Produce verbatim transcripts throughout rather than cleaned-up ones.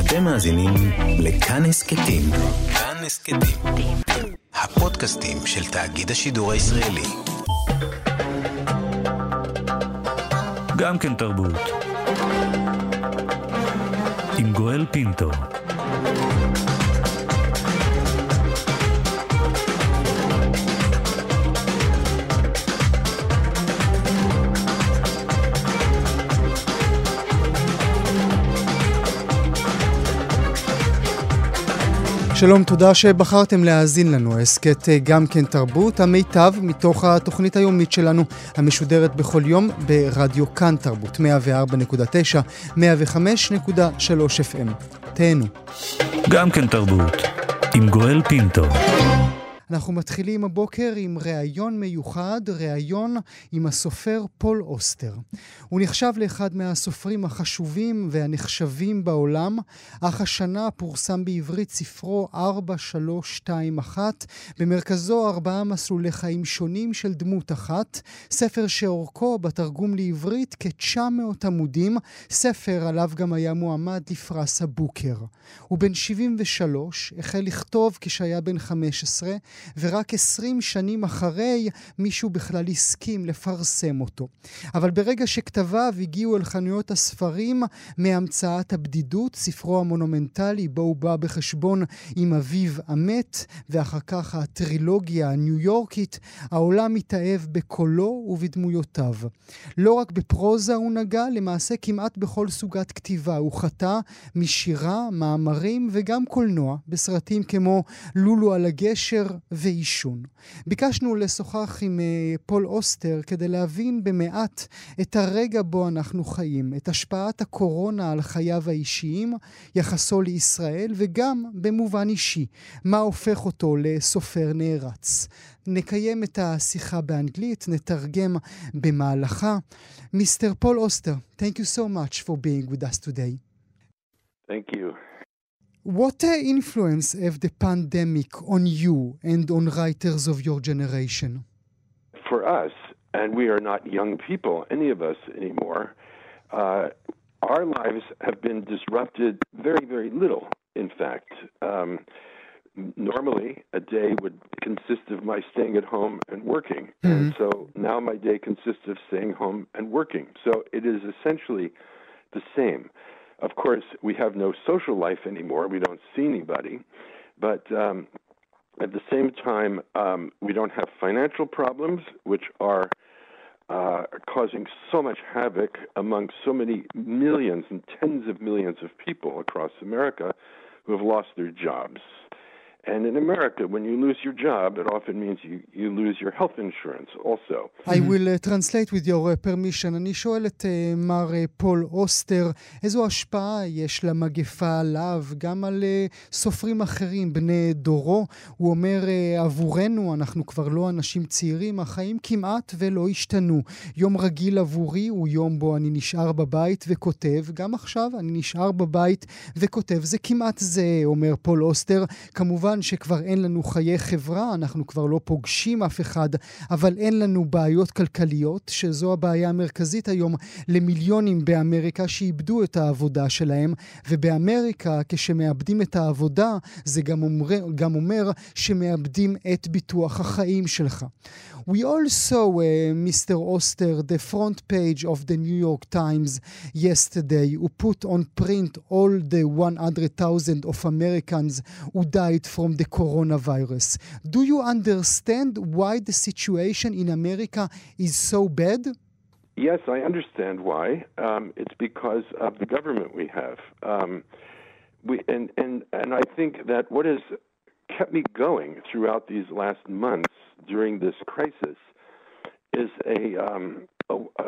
אתם מאזינים לכאן הסכתים. כאן הסכתים. הפודקאסטים של תאגיד השידור הישראלי. גם כן תרבות. עם גואל פינטו. שלום, תודה שבחרתם להאזין לנו. הסכת גם כן תרבות, המיטב מתוך התוכנית היומית שלנו, המשודרת בכל יום ברדיו כאן תרבות, מאה וארבע נקודה תשע, מאה וחמש נקודה שלוש אף אם. תהנו. גם כן תרבות, עם גואל פינטו. אנחנו מתחילים הבוקר עם ראיון מיוחד, ראיון עם הסופר פול אוסטר. הוא נחשב לאחד מהסופרים החשובים והנחשבים בעולם, אך השנה פורסם בעברית ספרו ארבע שלוש שתיים אחת, במרכזו ארבעה מסלולי חיים שונים של דמות אחת, ספר שאורכו בתרגום לעברית כ-תשע מאות עמודים, ספר עליו גם היה מועמד לפרס הבוקר. הוא בן שבעים ושלוש, החל לכתוב כשהיה בן חמש עשרה, ורק עשרים שנים אחרי מישהו בכלל הסכים לפרסם אותו. אבל ברגע שכתביו הגיעו אל חנויות הספרים מהמצאת הבדידות, ספרו המונומנטלי בו הוא בא בחשבון עם אביו המת, ואחר כך הטרילוגיה הניו יורקית, העולם מתאהב בקולו ובדמויותיו. לא רק בפרוזה הוא נגע, למעשה כמעט בכל סוגת כתיבה. הוא חטא משירה, מאמרים וגם קולנוע, בסרטים כמו לולו על הגשר ואישון. ביקשנו לשוחח עם פול אוסטר כדי להבין במעט את הרגע בו אנחנו חיים, את השפעת הקורונה על חייו האישיים, יחסו לישראל וגם במובן אישי, מה הופך אותו לסופר נערץ. נקיים את השיחה באנגלית, נתרגם במהלכה. מיסטר פול אוסטר, thank you so much for being with us today. Thank you. What uh, influence of the pandemic on you and on writers of your generation? For us, and we are not young people, any of us anymore, uh, our lives have been disrupted very, very little, in fact. Um, normally, a day would consist of my staying at home and working. Mm-hmm. And so now my day consists of staying home and working. So it is essentially the same. Of course, we have no social life anymore. We don't see anybody. But um, at the same time, um, we don't have financial problems, which are uh, causing so much havoc among so many millions and tens of millions of people across America who have lost their jobs. And in America, when you lose your job, it often means you, you lose your health insurance also. I will uh, translate with your uh, permission. אני שואל את uh, מר uh, פול אוסטר, איזו השפעה יש למגפה עליו, גם על uh, סופרים אחרים, בני דורו. הוא אומר, uh, עבורנו, אנחנו כבר לא אנשים צעירים, החיים כמעט ולא השתנו. יום רגיל עבורי הוא יום בו אני נשאר בבית וכותב, גם עכשיו אני נשאר בבית וכותב. זה כמעט זה, אומר פול אוסטר. כמובן, שכבר אין לנו חיי חברה, אנחנו כבר לא פוגשים אף אחד, אבל אין לנו בעיות כלכליות, שזו הבעיה המרכזית היום למיליונים באמריקה שאיבדו את העבודה שלהם, ובאמריקה כשמאבדים את העבודה, זה גם אומר, גם אומר שמאבדים את ביטוח החיים שלך. We also, uh, Mister Oster, the front page of the New York Times yesterday, who put on print all the one hundred thousand of Americans who died from the coronavirus. Do you understand why the situation in America is so bad? Yes, I understand why. Um, it's because of the government we have. Um, we and, and, and I think that what has kept me going throughout these last months during this crisis is a, um, a, a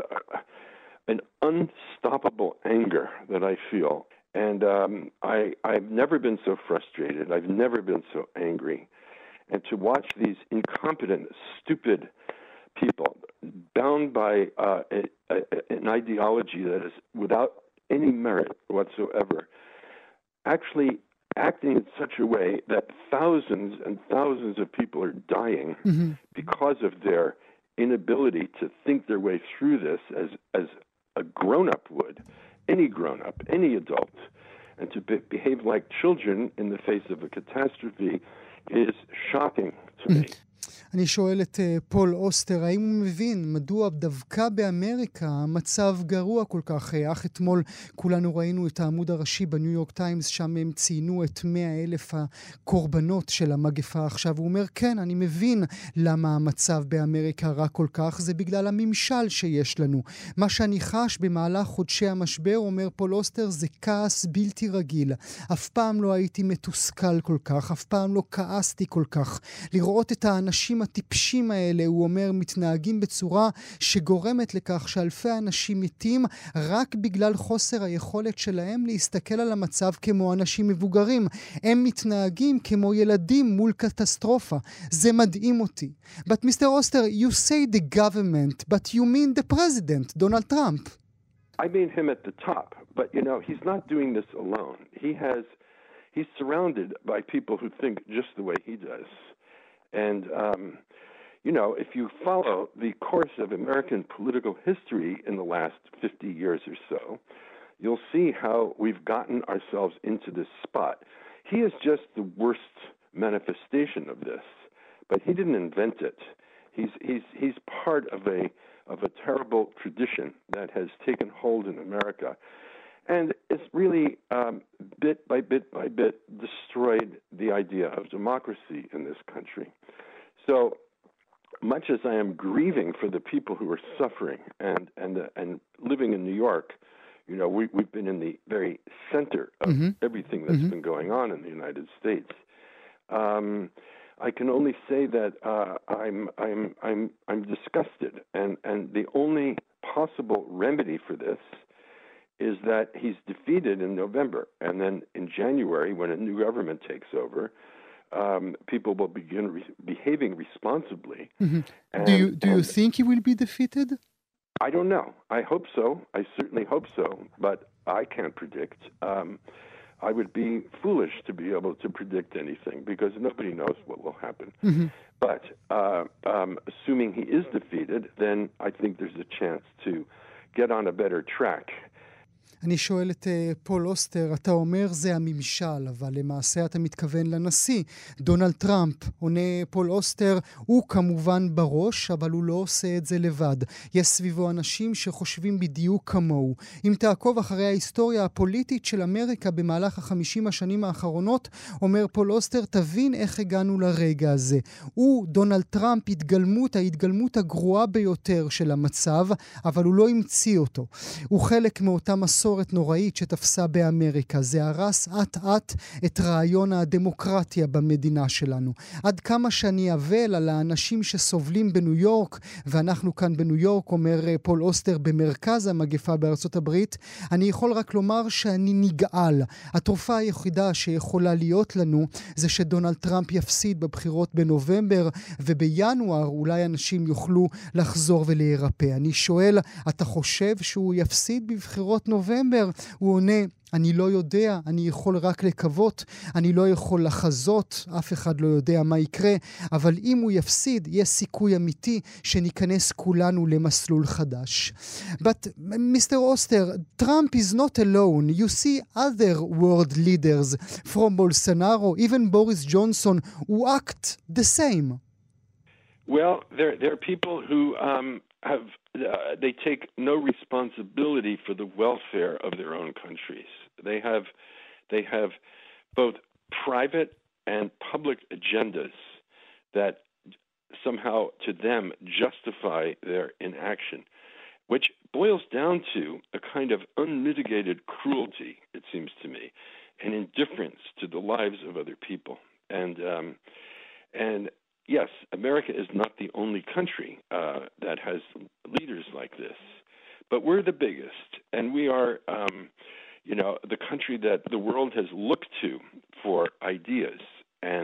an unstoppable anger that I feel. And um, I, I've never been so frustrated. I've never been so angry. And to watch these incompetent, stupid people bound by uh, a, a, an ideology that is without any merit whatsoever, actually acting in such a way that thousands and thousands of people are dying mm-hmm. because of their inability to think their way through this as, as a grown-up would, any grown-up, any adult. and to be- behave like children in the face of a catastrophe is shocking to me. אני שואל את uh, פול אוסטר, האם הוא מבין מדוע דווקא באמריקה המצב גרוע כל כך? אך אתמול כולנו ראינו את העמוד הראשי בניו יורק טיימס, שם הם ציינו את מאה אלף הקורבנות של המגפה עכשיו. הוא אומר, כן, אני מבין למה המצב באמריקה רע כל כך, זה בגלל הממשל שיש לנו. מה שאני חש במהלך חודשי המשבר, אומר פול אוסטר, זה כעס בלתי רגיל. אף פעם לא הייתי מתוסכל כל כך, אף פעם לא כעסתי כל כך. לראות את האנשים הטיפשים האלה, הוא אומר, מתנהגים בצורה שגורמת לכך שאלפי אנשים מתים רק בגלל חוסר היכולת שלהם להסתכל על המצב כמו אנשים מבוגרים. הם מתנהגים כמו ילדים מול קטסטרופה. זה מדהים אותי. But Mister Oster, you say the government, but you mean the president, Donald Trump. I mean him at the top, but you know, he's not doing this alone. He has, he's surrounded by people who think just the way he does. And, um, you know, if you follow the course of American political history in the last fifty years or so, you'll see how we've gotten ourselves into this spot. He is just the worst manifestation of this, but he didn't invent it. He's, he's, he's part of a, of a terrible tradition that has taken hold in America. And it's really, um, bit by bit by bit, destroyed the idea of democracy in this country. So much as I am grieving for the people who are suffering and and uh, and living in New York, you know, we, we've been in the very center of mm-hmm. everything that's mm-hmm. been going on in the United States. Um, I can only say that uh, I'm I'm I'm I'm disgusted, and and the only possible remedy for this is that he's defeated in November, and then in January, when a new government takes over, um, people will begin re- behaving responsibly. Mm-hmm. And, do you do you and think he will be defeated? I don't know. I hope so. I certainly hope so, but I can't predict. Um, I would be foolish to be able to predict anything because nobody knows what will happen. Mm-hmm. But uh, um, assuming he is defeated, then I think there's a chance to get on a better track. אני שואל את uh, פול אוסטר, אתה אומר זה הממשל, אבל למעשה אתה מתכוון לנשיא. דונלד טראמפ, עונה פול אוסטר, הוא כמובן בראש, אבל הוא לא עושה את זה לבד. יש סביבו אנשים שחושבים בדיוק כמוהו. אם תעקוב אחרי ההיסטוריה הפוליטית של אמריקה במהלך החמישים השנים האחרונות, אומר פול אוסטר, תבין איך הגענו לרגע הזה. הוא, דונלד טראמפ, התגלמות, ההתגלמות הגרועה ביותר של המצב, אבל הוא לא המציא אותו. הוא חלק מאותה מסורת נוראית שתפסה באמריקה. זה הרס עט-עט את רעיון הדמוקרטיה במדינה שלנו. עד כמה שאני אבל על האנשים שסובלים בניו יורק, ואנחנו כאן בניו יורק, אומר פול אוסטר, במרכז המגפה בארצות הברית, אני יכול רק לומר שאני נגעל. התרופה היחידה שיכולה להיות לנו זה שדונלד טראמפ יפסיד בבחירות בנובמבר, ובינואר אולי אנשים יוכלו לחזור ולהירפא. אני שואל, אתה חושב שהוא יפסיד בבחירות נובמבר? הוא עונה, אני לא יודע, אני יכול רק לקוות, אני לא יכול לחזות, אף אחד לא יודע מה יקרה, אבל אם הוא יפסיד, יש סיכוי אמיתי שניכנס כולנו למסלול חדש. But Mister Oster, Trump is not alone. You see other world leaders from Bolsonaro, even Boris Johnson, who act the same. Well, there, there are people who um, have Uh, they take no responsibility for the welfare of their own countries. They have, they have both private and public agendas that somehow to them justify their inaction, which boils down to a kind of unmitigated cruelty, it seems to me, and indifference to the lives of other people. And um, and yes, America is not the only country uh, that has leaders like this, but we're the biggest, and we are, um, you know, the country that the world has looked to for ideas, and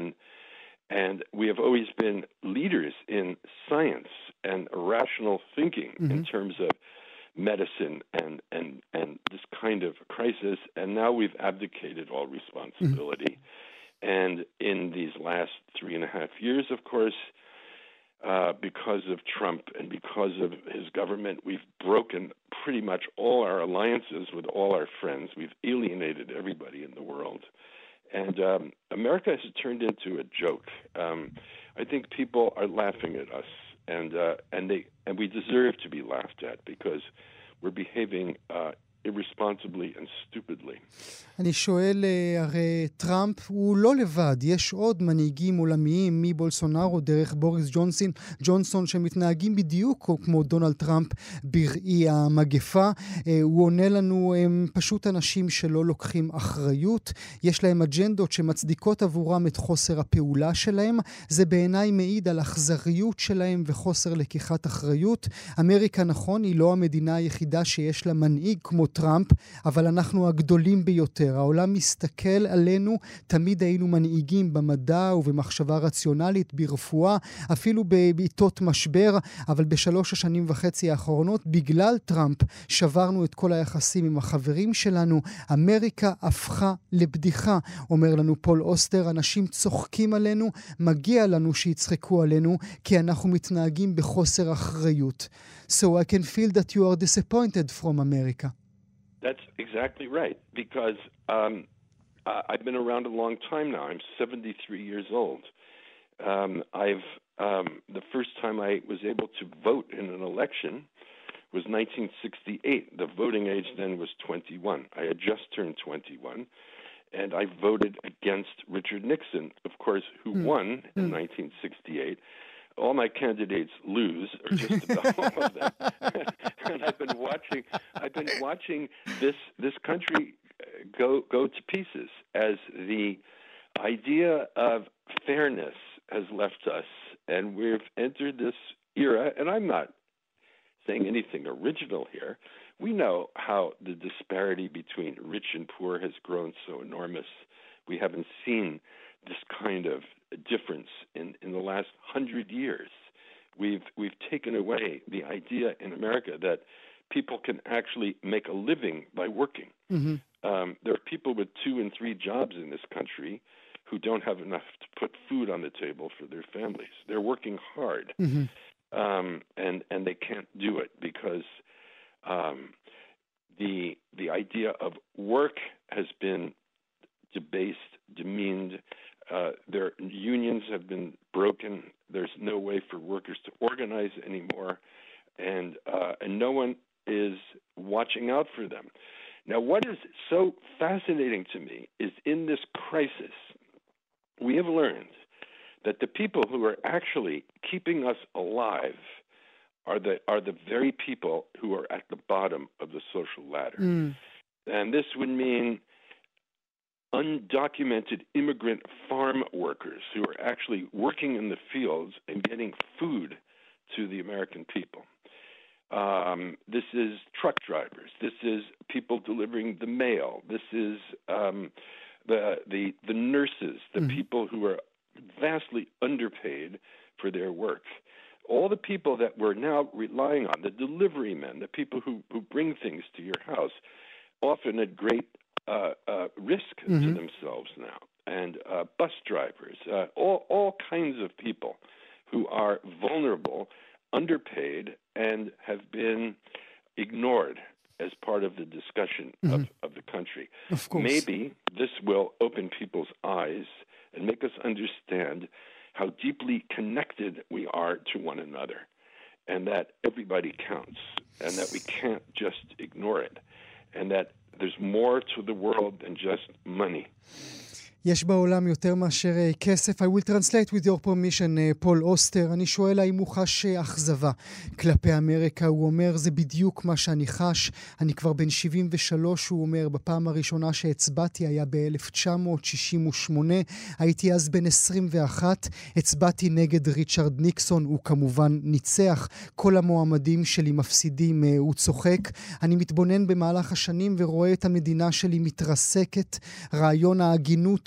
and we have always been leaders in science and rational thinking mm-hmm. in terms of medicine and and and this kind of crisis, and now we've abdicated all responsibility. Mm-hmm. And in these last three and a half years, of course, uh, because of Trump and because of his government. We've broken pretty much all our alliances with all our friends. We've alienated everybody in the world. And um, America has turned into a joke. Um, I think people are laughing at us, and uh, and they and we deserve to be laughed at because we're behaving uh, irresponsibly and stupidly. אני שואל, הרי טראמפ הוא לא לבד, יש עוד מנהיגים עולמיים מבולסונארו דרך בוריס ג'ונסון, ג'ונסון שמתנהגים בדיוק כמו דונלד טראמפ בראי המגפה. הוא עונה לנו, הם פשוט אנשים שלא לוקחים אחריות, יש להם אג'נדות שמצדיקות עבורם את חוסר הפעולה שלהם, זה בעיניי מעיד על אכזריות שלהם וחוסר לקיחת אחריות. אמריקה נכון, היא לא המדינה היחידה שיש לה מנהיג כמו טראמפ, אבל אנחנו הגדולים ביותר. העולם מסתכל עלינו, תמיד היינו מנהיגים במדע ובמחשבה רציונלית, ברפואה, אפילו בעיתות משבר, אבל בשלוש השנים וחצי האחרונות, בגלל טראמפ, שברנו את כל היחסים עם החברים שלנו. אמריקה הפכה לבדיחה, אומר לנו פול אוסטר, אנשים צוחקים עלינו, מגיע לנו שיצחקו עלינו, כי אנחנו מתנהגים בחוסר אחריות. So I can feel that you are disappointed from America. That's exactly right, because um, I've been around a long time now. I'm seventy-three years old. Um, I've um, the first time I was able to vote in an election was nineteen sixty-eight. The voting age then was twenty-one. I had just turned twenty-one, and I voted against Richard Nixon, of course, who mm. won in mm. nineteen sixty-eight. All my candidates lose, or just about all of them. And I've been watching. I've been watching this this country go go to pieces as the idea of fairness has left us, and we've entered this era. And I'm not saying anything original here. We know how the disparity between rich and poor has grown so enormous. We haven't seen this kind of difference in, in the last hundred years. We've we've taken away the idea in America that people can actually make a living by working. Mm-hmm. Um, there are people with two and three jobs in this country who don't have enough to put food on the table for their families. They're working hard, mm-hmm. um, and and they can't do it because um, the the idea of work has been debased, demeaned. Uh, their unions have been broken. There's no way for workers to organize anymore, and uh, and no one is watching out for them. Now, what is so fascinating to me is in this crisis, we have learned that the people who are actually keeping us alive are the are the very people who are at the bottom of the social ladder, mm. and this would mean undocumented immigrant farm workers who are actually working in the fields and getting food to the American people. Um, this is truck drivers. This is people delivering the mail. This is um, the the the nurses, the mm-hmm. people who are vastly underpaid for their work. All the people that we're now relying on, the delivery men, the people who, who bring things to your house, often at great Uh, uh, risk mm-hmm. to themselves now, and uh, bus drivers, uh, all all kinds of people who are vulnerable, underpaid, and have been ignored as part of the discussion mm-hmm. of, of the country. Of course. Maybe this will open people's eyes and make us understand how deeply connected we are to one another, and that everybody counts, and that we can't just ignore it, and that there's more to the world than just money. יש בעולם יותר מאשר כסף. I will translate with your permission, פול אוסטר. אני שואל האם הוא חש אכזבה כלפי אמריקה. הוא אומר, זה בדיוק מה שאני חש. אני כבר בן שבעים ושלוש, הוא אומר, בפעם הראשונה שהצבעתי היה ב-אלף תשע מאות שישים ושמונה. הייתי אז בן עשרים ואחת. הצבעתי נגד ריצ'רד ניקסון. הוא כמובן ניצח. כל המועמדים שלי מפסידים, הוא צוחק. אני מתבונן במהלך השנים ורואה את המדינה שלי מתרסקת. רעיון ההגינות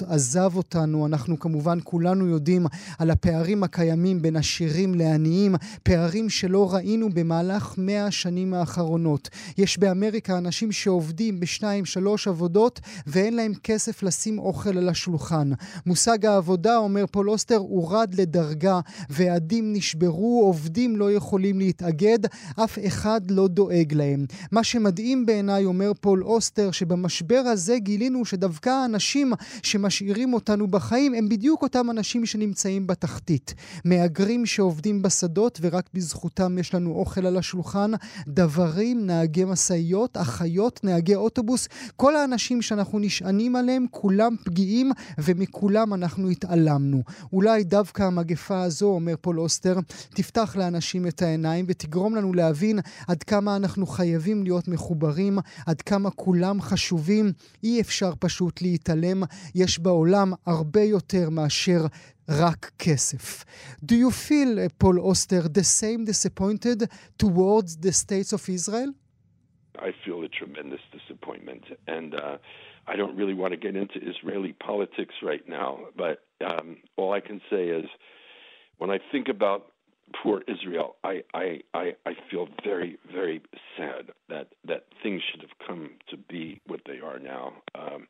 עזב אותנו. אנחנו כמובן כולנו יודעים על הפערים הקיימים בין עשירים לעניים, פערים שלא ראינו במהלך מאה השנים האחרונות. יש באמריקה אנשים שעובדים בשניים, שלוש עבודות, ואין להם כסף לשים אוכל על השולחן. מושג העבודה, אומר פול אוסטר, הורד לדרגה, ועדים נשברו, עובדים לא יכולים להתאגד, אף אחד לא דואג להם. מה שמדהים בעיניי, אומר פול אוסטר, שבמשבר הזה גילינו שדווקא האנשים שמשאירים אותנו בחיים הם בדיוק אותם אנשים שנמצאים בתחתית. מהגרים שעובדים בשדות ורק בזכותם יש לנו אוכל על השולחן, דברים, נהגי מסעיות, אחיות, נהגי אוטובוס, כל האנשים שאנחנו נשענים עליהם, כולם פגיעים ומכולם אנחנו התעלמנו. אולי דווקא המגפה הזו, אומר פול אוסטר, תפתח לאנשים את העיניים ותגרום לנו להבין עד כמה אנחנו חייבים להיות מחוברים, עד כמה כולם חשובים, אי אפשר פשוט להתעלם, יש בעולם הרבה יותר מאשר רק כסף. Do you feel, Paul Oster, the same disappointed towards the states of Israel? I feel a tremendous disappointment, and uh, I don't really want to get into Israeli politics right now, but um, all I can say is when I think about poor Israel, I, I, I, I feel very, very sad that, that things should have come to be what they are now. Um,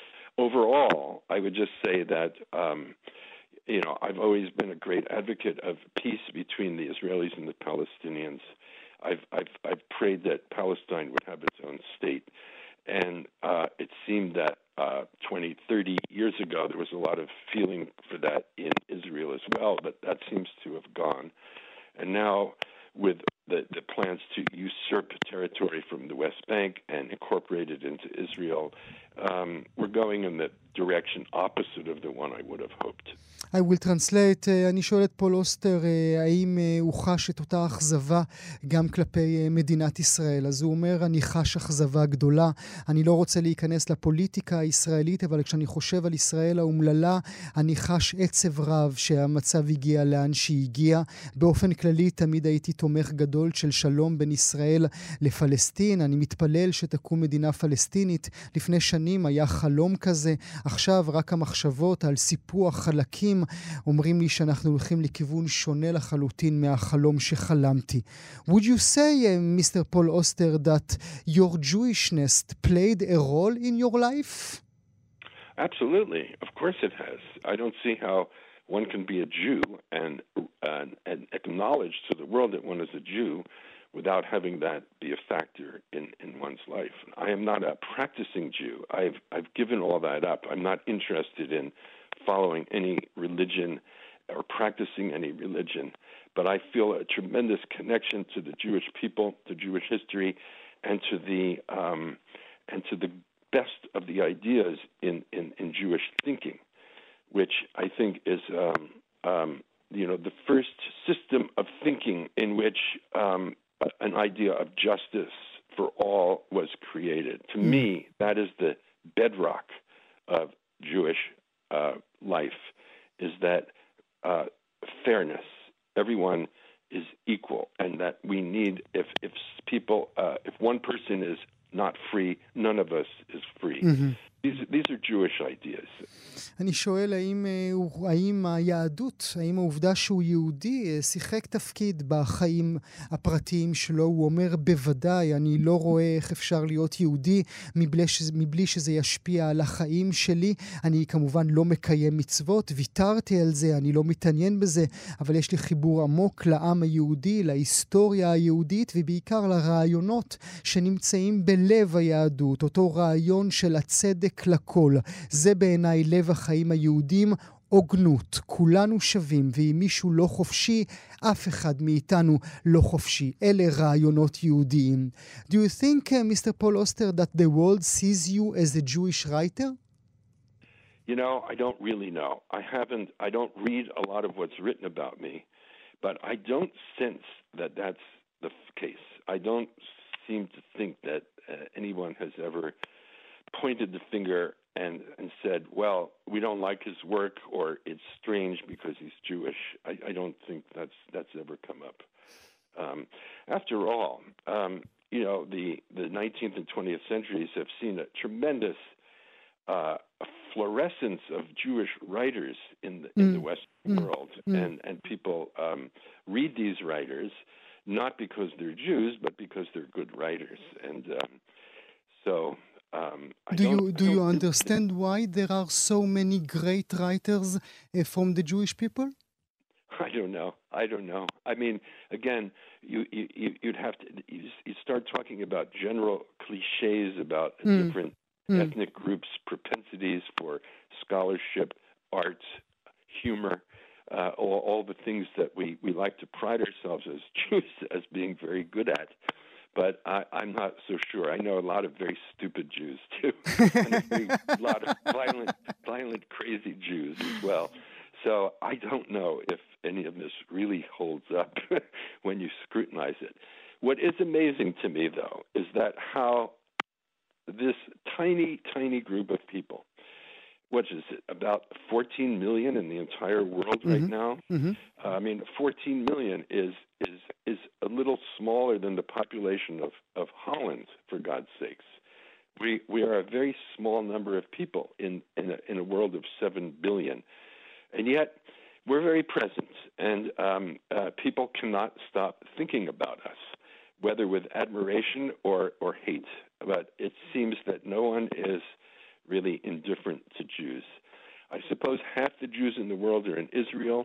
overall, I would just say that um, you know, I've always been a great advocate of peace between the Israelis and the Palestinians. I've, I've, I've prayed that Palestine would have its own state. And uh, it seemed that uh, twenty, thirty years ago, there was a lot of feeling for that in Israel as well, but that seems to have gone. And now, with the, the plans to usurp territory from the West Bank and incorporate it into Israel, um, we're going in the direction opposite of the one I would have hoped. I will translate. אני שואל את פול אוסטר, האם הוא חש את אותה אכזבה גם כלפי מדינת ישראל? אז הוא אומר, אני חש אכזבה גדולה. אני לא רוצה להיכנס לפוליטיקה הישראלית, אבל כשאני חושב על ישראל האומללה, אני חש עצב רב שהמצב הגיע לאן שהגיע. באופן כללי, תמיד הייתי תומך גדול של שלום בין ישראל לפלסטין. אני מתפלל שתקום מדינה פלסטינית. לפני שנים היה חלום כזה. עכשיו רק המחשבות על סיפוח חלקים אומרים לי שאנחנו הולכים לכיוון שונה לחלוטין מהחלום שחלמתי. Would you say, uh, Mister Paul Oster, that your Jewishness played a role in your life? Absolutely. Of course it has. I don't see how one can be a Jew and, uh, and acknowledge to the world that one is a Jew without having that be a factor in, in one's life. I am not a practicing Jew. I've, I've given all that up. I'm not interested in following any religion or practicing any religion, but I feel a tremendous connection to the Jewish people, to Jewish history, and to the um, and to the best of the ideas in, in, in Jewish thinking, which I think is um, um, you know the first system of thinking in which um, an idea of justice for all was created. To mm. me, that is the bedrock of Jewish uh, life, is that uh, fairness. Everyone is equal, and that we need, if if people, uh, if one person is not free, none of us is free. Mm-hmm. These, these are Jewish ideas. אני שואל האם, האם היהדות, האם העובדה שהוא יהודי שיחק תפקיד בחיים הפרטיים שלו. הוא אומר בוודאי, אני לא רואה איך אפשר להיות יהודי מבלי, מבלי שזה ישפיע על החיים שלי. אני כמובן לא מקיים מצוות, ויתרתי על זה, אני לא מתעניין בזה, אבל יש לי חיבור עמוק לעם היהודי, להיסטוריה היהודית ובעיקר לרעיונות שנמצאים בלב היהדות, אותו רעיון של הצדק לכל. זה בעיניי לב החיים היהודים, הוגנות. כולנו שווים, ואם מישהו לא חופשי, אף אחד מאיתנו לא חופשי. אלה רעיונות יהודיים. Do you think, uh, Mister Paul Oster, that the world sees you as a Jewish writer? You know, I don't really know. I haven't, I don't read a lot of what's written about me, but I don't sense that that's the case. I don't seem to think that uh, anyone has ever pointed the finger and, and said, well, we don't like his work, or it's strange because he's Jewish. I, I don't think that's that's ever come up. Um, after all, um, you know, the, the nineteenth and twentieth centuries have seen a tremendous uh, fluorescence of Jewish writers in the, in Mm. the Western Mm. world, Mm. and and people um, read these writers not because they're Jews, but because they're good writers, and um, so. Um, I Do don't, you I do you don't- understand why there are so many great writers uh, from the Jewish people? I don't know. I don't know. I mean, again, you, you you- you'd have to you, you start talking about general cliches about Mm. different Mm. ethnic groups' propensities for scholarship, art, humor, uh, all, all the things that we, we like to pride ourselves as Jews as being very good at. But I, I'm not so sure. I know a lot of very stupid Jews too, and a big, lot of violent, violent, crazy Jews as well. So I don't know if any of this really holds up when you scrutinize it. What is amazing to me, though, is that how this tiny, tiny group of people, what is it, about fourteen million in the entire world right Mhm. now? Mhm. Uh, I mean, fourteen million is is is a little smaller than the population of, of Holland, for God's sakes. We we are a very small number of people in in a, in a world of seven billion, and yet we're very present, and um, uh, people cannot stop thinking about us, whether with admiration or or hate. But it seems that no one is really indifferent to Jews. I suppose half the Jews in the world are in Israel,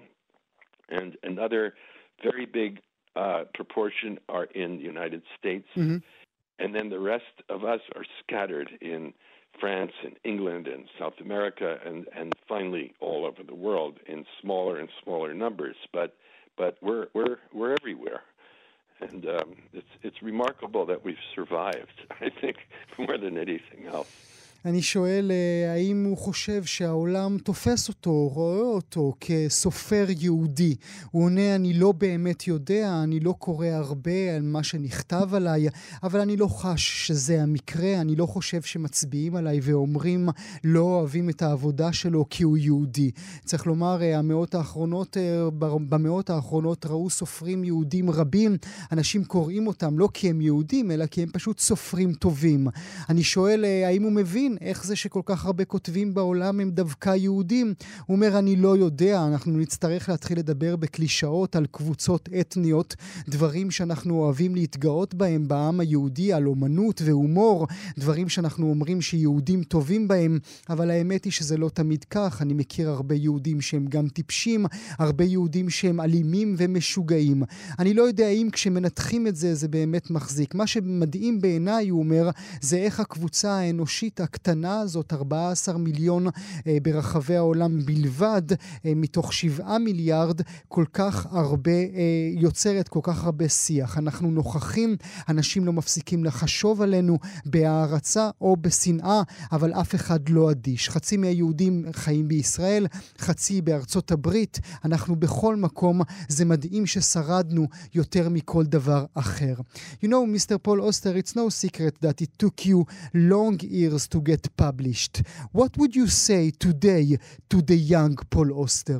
and another very big uh, proportion are in the United States, Mhm. and then the rest of us are scattered in France and England and South America, and, and finally all over the world in smaller and smaller numbers. But but we're we're we're everywhere, and um, it's it's remarkable that we've survived. I think more than anything else. אני שואל אה, האם הוא חושב שהעולם תופס אותו, רואה אותו כסופר יהודי. הוא עונה, אני לא באמת יודע, אני לא קורא הרבה על מה שנכתב עליי, אבל אני לא חש שזה המקרה, אני לא חושב שמצביעים עליי ואומרים לא אוהבים את העבודה שלו כי הוא יהודי. צריך לומר, אה, המאות האחרונות, אה, במאות האחרונות ראו סופרים יהודים רבים, אנשים קוראים אותם לא כי הם יהודים, אלא כי הם פשוט סופרים טובים. אני שואל אה, האם הוא מבין איך זה שכל כך הרבה כותבים בעולם הם דווקא יהודים? הוא אומר, אני לא יודע, אנחנו נצטרך להתחיל לדבר בקלישאות על קבוצות אתניות, דברים שאנחנו אוהבים להתגאות בהם בעם היהודי, על אומנות והומור, דברים שאנחנו אומרים שיהודים טובים בהם, אבל האמת היא שזה לא תמיד כך. אני מכיר הרבה יהודים שהם גם טיפשים, הרבה יהודים שהם אלימים ומשוגעים. אני לא יודע אם כשמנתחים את זה, זה באמת מחזיק. מה שמדהים בעיניי, הוא אומר, זה איך הקבוצה האנושית הקטנה הזאת, ארבעה עשר מיליון אה, ברחבי העולם בלבד, אה, מתוך שבעה מיליארד, כל כך הרבה, אה, יוצרת כל כך הרבה שיח. אנחנו נוכחים, אנשים לא מפסיקים לחשוב עלינו בהערצה או בשנאה, אבל אף אחד לא אדיש. חצי מהיהודים חיים בישראל, חצי בארצות הברית, אנחנו בכל מקום, זה מדהים ששרדנו יותר מכל דבר אחר. You know, Mister Paul Oster, it's no secret that it took you long years to get published. What would you say today to the young Paul Oster?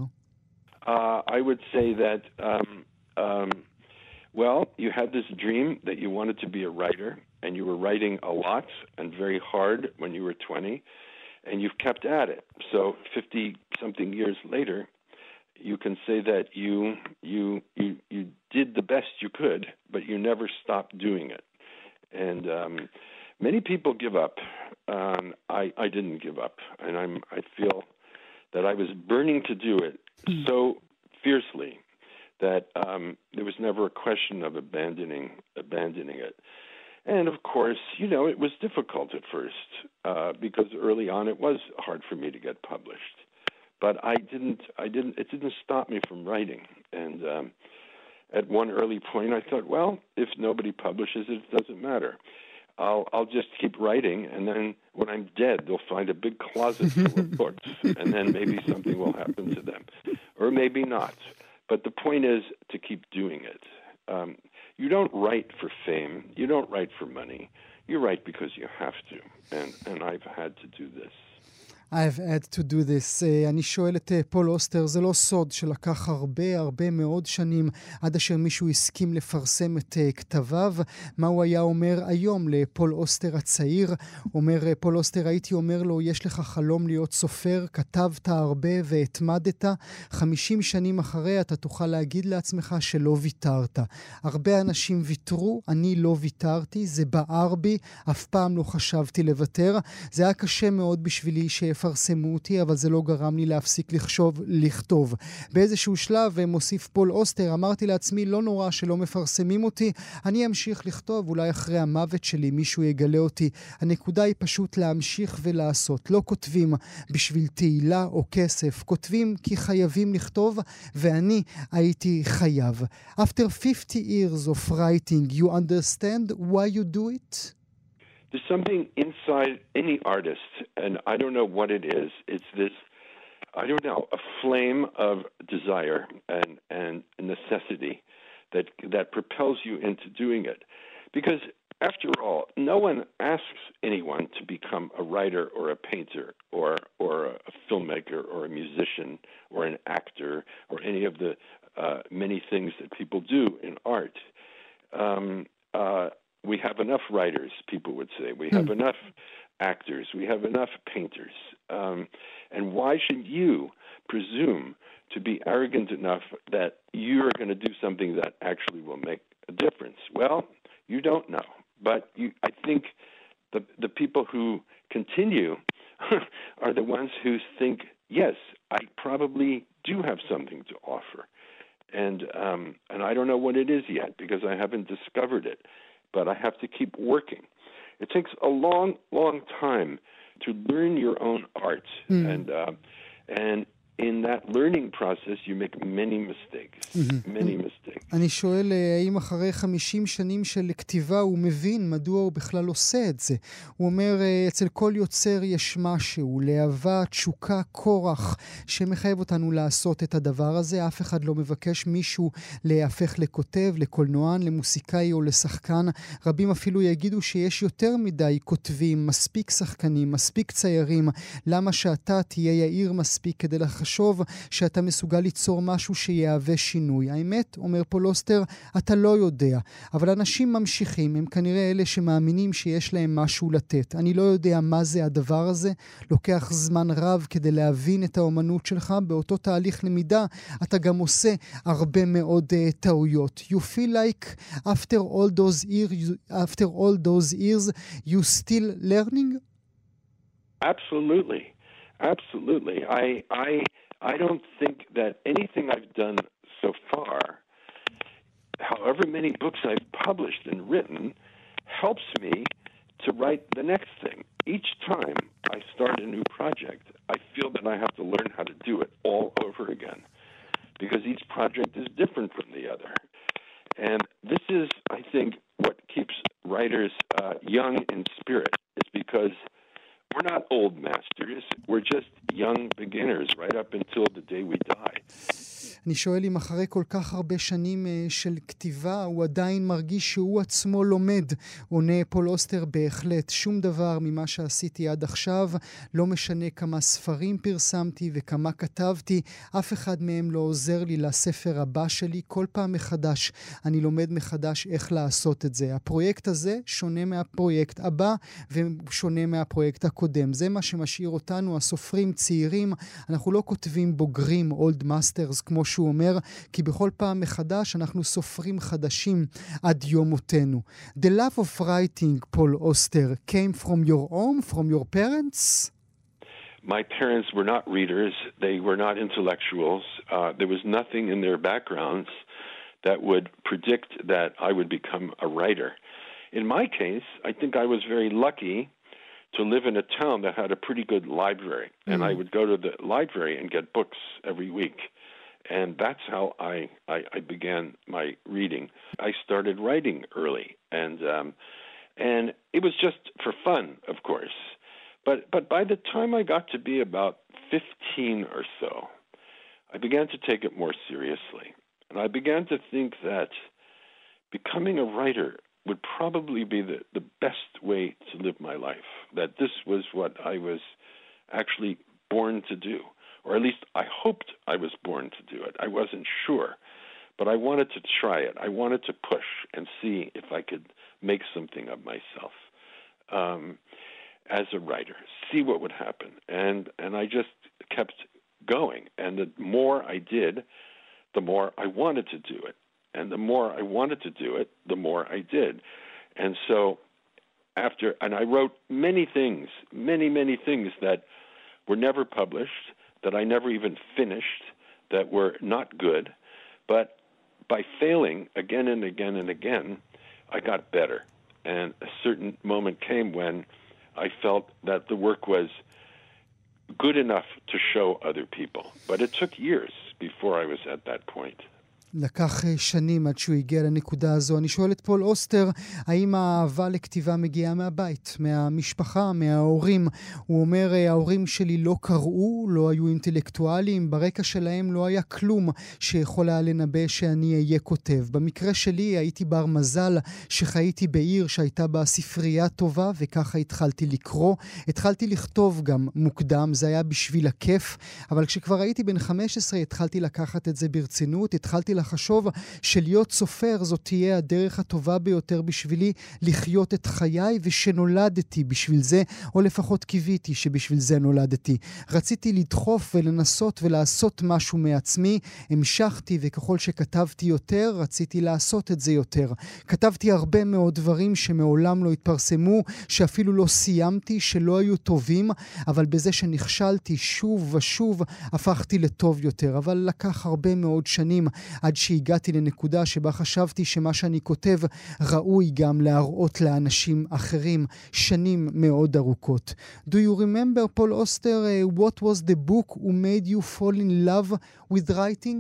Uh, I would say that, um, um, well, you had this dream that you wanted to be a writer, and you were writing a lot and very hard when you were twenty, and you've kept at it. So fifty-something years later, you can say that you, you, you, you did the best you could, but you never stopped doing it. And um, many people give up. Um, I, I didn't give up, and I'm, I feel that I was burning to do it so fiercely that um, there was never a question of abandoning abandoning it. And of course, you know, it was difficult at first uh, because early on it was hard for me to get published. But I didn't, I didn't, it didn't stop me from writing. And um, at one early point, I thought, well, if nobody publishes it, it doesn't matter. I'll I'll just keep writing, and then when I'm dead, they'll find a big closet full of books, and then maybe something will happen to them, or maybe not. But the point is to keep doing it. Um, you don't write for fame. You don't write for money. You write because you have to, and and I've had to do this. I've had to do this. Uh, אני שואל את uh, פול אוסטר, זה לא סוד שלקח הרבה הרבה מאוד שנים עד אשר מישהו הסכים לפרסם את uh, כתביו. מה הוא היה אומר היום לפול אוסטר הצעיר? אומר uh, פול אוסטר, הייתי אומר לו, יש לך חלום להיות סופר, כתבת הרבה והתמדת. חמישים שנים אחרי אתה תוכל להגיד לעצמך שלא ויתרת. הרבה אנשים ויתרו, אני לא ויתרתי, זה בער בי, אף פעם לא חשבתי לוותר. זה היה קשה מאוד בשבילי שיפרסמו אותי, אבל זה לא גרם לי להפסיק לחשוב, לכתוב. באיזשהו שלב, מוסיף פול אוסטר, אמרתי לעצמי, לא נורא שלא מפרסמים אותי, אני אמשיך לכתוב, אולי אחרי המוות שלי מישהו יגלה אותי. הנקודה היא פשוט להמשיך ולעשות. לא כותבים בשביל תהילה או כסף, כותבים כי חייבים לכתוב, ואני הייתי חייב. After fifty years of writing, you understand why you do it? There's something inside any artist, and I don't know what it is. It's this, I don't know, a flame of desire and, and necessity that that propels you into doing it. Because after all, no one asks anyone to become a writer or a painter or or a filmmaker or a musician or an actor or any of the uh, many things that people do in art. Um, uh, We have enough writers, people would say. We have mm. enough actors. We have enough painters. Um, and why should you presume to be arrogant enough that you're going to do something that actually will make a difference? Well, you don't know. But you, I think the the people who continue are the ones who think, yes, I probably do have something to offer. And um, and I don't know what it is yet because I haven't discovered it. But I have to keep working. It takes a long, long time to learn your own art, mm. and uh, and in that learning process, you make many mistakes, mm-hmm. many mistakes. אני שואל, האם אחרי חמישים שנים של כתיבה הוא מבין מדוע הוא בכלל עושה את זה? הוא אומר, אצל כל יוצר יש משהו, להבה, תשוקה, כורח, שמחייב אותנו לעשות את הדבר הזה. אף אחד לא מבקש מישהו להפך לכותב, לקולנוען, למוסיקאי או לשחקן. רבים אפילו יגידו שיש יותר מדי כותבים, מספיק שחקנים, מספיק ציירים. למה שאתה תהיה יאיר מספיק כדי לחשוב לחשוב שאתה מסוגל ליצור משהו שיהווה שינוי? האמת, אומר פול אוסטר, אתה לא יודע. אבל אנשים ממשיכים, הם כנראה אלה שמאמינים שיש להם משהו לתת. אני לא יודע מה זה הדבר הזה. לוקח זמן רב כדי להבין את האומנות שלך. באותו תהליך למידה, אתה גם עושה הרבה מאוד uh, טעויות. You feel like after all those years, after all those years, you still learning? Absolutely. Absolutely. I I I don't think that anything I've done so far, however many books I've published and written, helps me to write the next thing. Each time I start a new project, I feel that I have to learn how to do it all over again because each project is different from the other. And this is, I think, what keeps writers uh, young in spirit. It's because we're not old masters. We're just young beginners right up until the day we die. אני שואל אם אחרי כל כך הרבה שנים של כתיבה, הוא עדיין מרגיש שהוא עצמו לומד. עונה פול אוסטר, בהחלט. שום דבר ממה שעשיתי עד עכשיו, לא משנה כמה ספרים פרסמתי וכמה כתבתי, אף אחד מהם לא עוזר לי לספר הבא שלי. כל פעם מחדש אני לומד מחדש איך לעשות את זה. הפרויקט הזה שונה מהפרויקט הבא ושונה מהפרויקט הקודם. זה מה שמשאיר אותנו, הסופרים צעירים. אנחנו לא כותבים בוגרים, old masters, כמו שהוא אומר, כי בכל פעם מחדש אנחנו סופרים חדשים עד יום מותנו. The love of writing, Paul Auster, came from your home, from your parents? My parents were not readers. They were not intellectuals. Uh, there was nothing in their backgrounds that would predict that I would become a writer. In my case, I think I was very lucky to live in a town that had a pretty good library. Mm. And I would go to the library and get books every week. And that's how I, I, I began my reading. I started writing early, and um, and it was just for fun, of course. But but by the time I got to be about fifteen or so, I began to take it more seriously. And I began to think that becoming a writer would probably be the, the best way to live my life. That this was what I was actually born to do, or at least I hoped I was born to do it. I wasn't sure, but I wanted to try it. I wanted to push and see if I could make something of myself um, as a writer, see what would happen. And, and I just kept going. And the more I did, the more I wanted to do it. And the more I wanted to do it, the more I did. And so after, and I wrote many things, many, many things that were never published, that I never even finished, that were not good. But by failing again and again and again, I got better. And a certain moment came when I felt that the work was good enough to show other people. But it took years before I was at that point. לקח שנים עד שהוא הגיע לנקודה הזו. אני שואל את פול אוסטר, האם האהבה לכתיבה מגיעה מהבית, מהמשפחה, מההורים? הוא אומר, ההורים שלי לא קראו, לא היו אינטלקטואלים, ברקע שלהם לא היה כלום שיכול היה לנבא שאני אהיה כותב. במקרה שלי הייתי בר מזל שחייתי בעיר שהייתה בה ספרייה טובה, וככה התחלתי לקרוא. התחלתי לכתוב גם מוקדם, זה היה בשביל הכיף, אבל כשכבר הייתי בן חמש עשרה התחלתי לקחת את זה ברצינות, התחלתי לחשוב שלהיות סופר זאת תהיה הדרך הטובה ביותר בשבילי לחיות את חיי, ושנולדתי בשביל זה, או לפחות קיוויתי שבשביל זה נולדתי. רציתי לדחוף ולנסות ולעשות משהו מעצמי, המשכתי, וככל שכתבתי יותר, רציתי לעשות את זה יותר. כתבתי הרבה מאוד דברים שמעולם לא התפרסמו, שאפילו לא סיימתי, שלא היו טובים, אבל בזה שנכשלתי שוב ושוב, הפכתי לטוב יותר. אבל לקח הרבה מאוד שנים עד שהגעתי לנקודה שבה חשבתי שמה שאני כותב ראוי גם להראות לאנשים אחרים. שנים מאוד ארוכות. Do you remember, Paul Auster, uh, what was the book who made you fall in love with writing?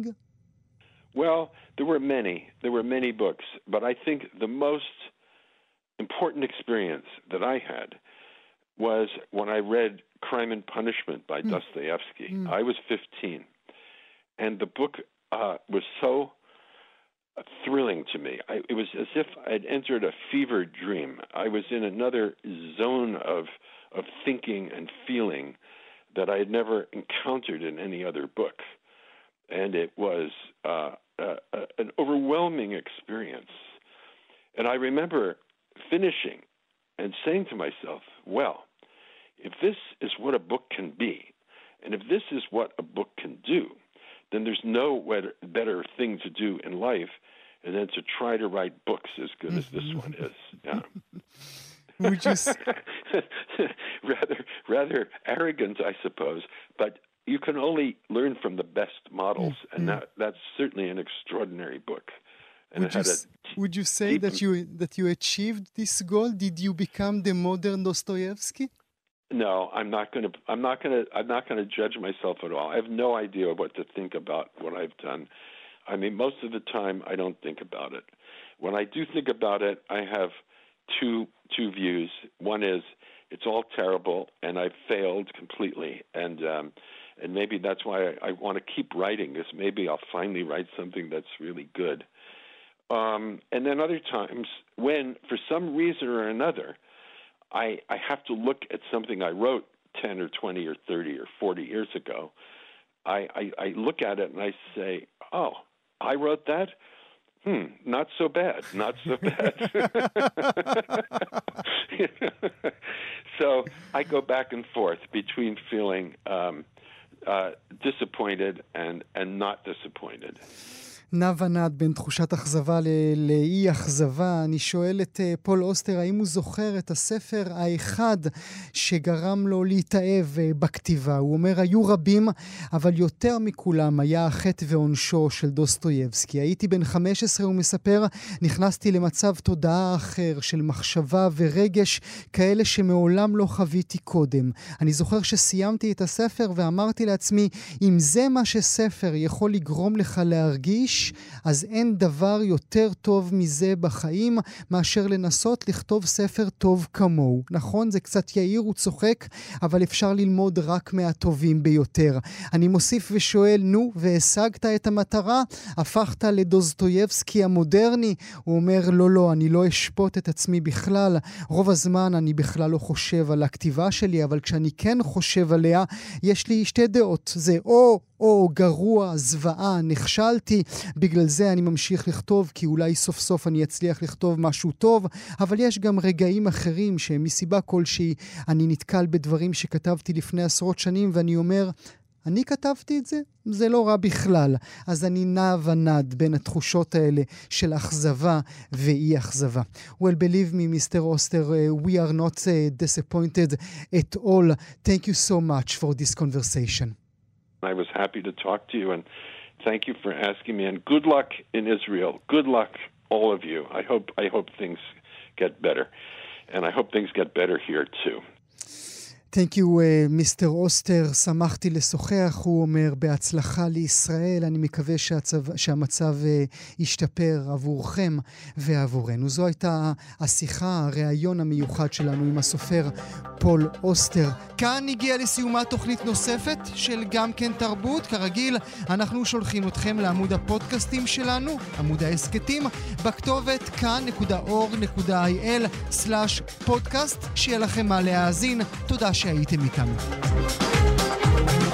Well, there were many. There were many books, but I think the most important experience that I had was when I read Crime and Punishment by mm. Dostoevsky. Mm. I was fifteen, and the book uh, was so thrilling to me. I, it was as if I'd entered a fever dream. I was in another zone of of thinking and feeling that I had never encountered in any other book. And it was uh, uh, uh, an overwhelming experience. And I remember finishing and saying to myself, well, if this is what a book can be, and if this is what a book can do, then there's no better thing to do in life and then to try to write books as good as this one is. Yeah. Would you s- rather, rather arrogant, I suppose, but you can only learn from the best models, and that, that's certainly an extraordinary book. And would, it had you, a would you say deep... that you that you achieved this goal? Did you become the modern Dostoevsky? No, I'm not going to. I'm not going to. I'm not going to judge myself at all. I have no idea what to think about what I've done. I mean, most of the time, I don't think about it. When I do think about it, I have two two views. One is it's all terrible, and I've failed completely, and um, and maybe that's why I, I want to keep writing, because maybe I'll finally write something that's really good. Um, and then other times, when for some reason or another, I, I have to look at something I wrote ten or twenty or thirty or forty years ago. I, I, I look at it and I say, oh, I wrote that? Hmm, not so bad, not so bad. So I go back and forth between feeling um, uh, disappointed and, and not disappointed. נע ונד בין תחושת אכזבה ל- לאי אכזבה. אני שואל את uh, פול אוסטר, האם הוא זוכר את הספר האחד שגרם לו להתאהב uh, בכתיבה? הוא אומר, היו רבים, אבל יותר מכולם היה החטא ועונשו של דוסטויבסקי. הייתי בן חמש עשרה, הוא מספר, נכנסתי למצב תודעה אחר של מחשבה ורגש, כאלה שמעולם לא חוויתי קודם. אני זוכר שסיימתי את הספר ואמרתי לעצמי, אם זה מה שספר יכול לגרום לך להרגיש, איש, אז אין דבר יותר טוב מזה בחיים מאשר לנסות לכתוב ספר טוב כמוהו. נכון, זה קצת יאיר וצוחק, אבל אפשר ללמוד רק מהטובים ביותר. אני מוסיף ושואל, נו, והשגת את המטרה? הפכת לדוסטויבסקי המודרני? הוא אומר, לא, לא, אני לא אשפוט את עצמי בכלל. רוב הזמן אני בכלל לא חושב על הכתיבה שלי, אבל כשאני כן חושב עליה, יש לי שתי דעות. זה או, או גרוע, זוועה, נכשלתי, בגלל זה אני ממשיך לכתוב, כי אולי סוף סוף אני אצליח לכתוב משהו טוב, אבל יש גם רגעים אחרים שמסיבה כלשהי אני נתקל בדברים שכתבתי לפני עשרות שנים, ואני אומר, אני כתבתי את זה? זה לא רע בכלל. אז אני נע ונד בין התחושות האלה של אכזבה ואי אכזבה. Well, believe me, Mister Oster, uh, we are not uh, disappointed at all. Thank you so much for this conversation. I was happy to talk to you, and thank you for asking me, and good luck in Israel. Good luck, all of you. I hope, I hope things get better, and I hope things get better here too. Thank you, מיסטר אוסטר. שמחתי לשוחח, הוא אומר, בהצלחה לישראל. אני מקווה שהצו, שהמצב uh, ישתפר עבורכם ועבורנו. זו הייתה השיחה, הראיון המיוחד שלנו עם הסופר פול אוסטר. כאן הגיעה לסיומה תוכנית נוספת של גם כן תרבות. כרגיל, אנחנו שולחים אתכם לעמוד הפודקאסטים שלנו, עמוד העסקתים, בכתובת כאן נקודה אור נקודה איי אל סלאש פודקאסט. שיהיה לכם מה להאזין. תודה שהייתם איתנו.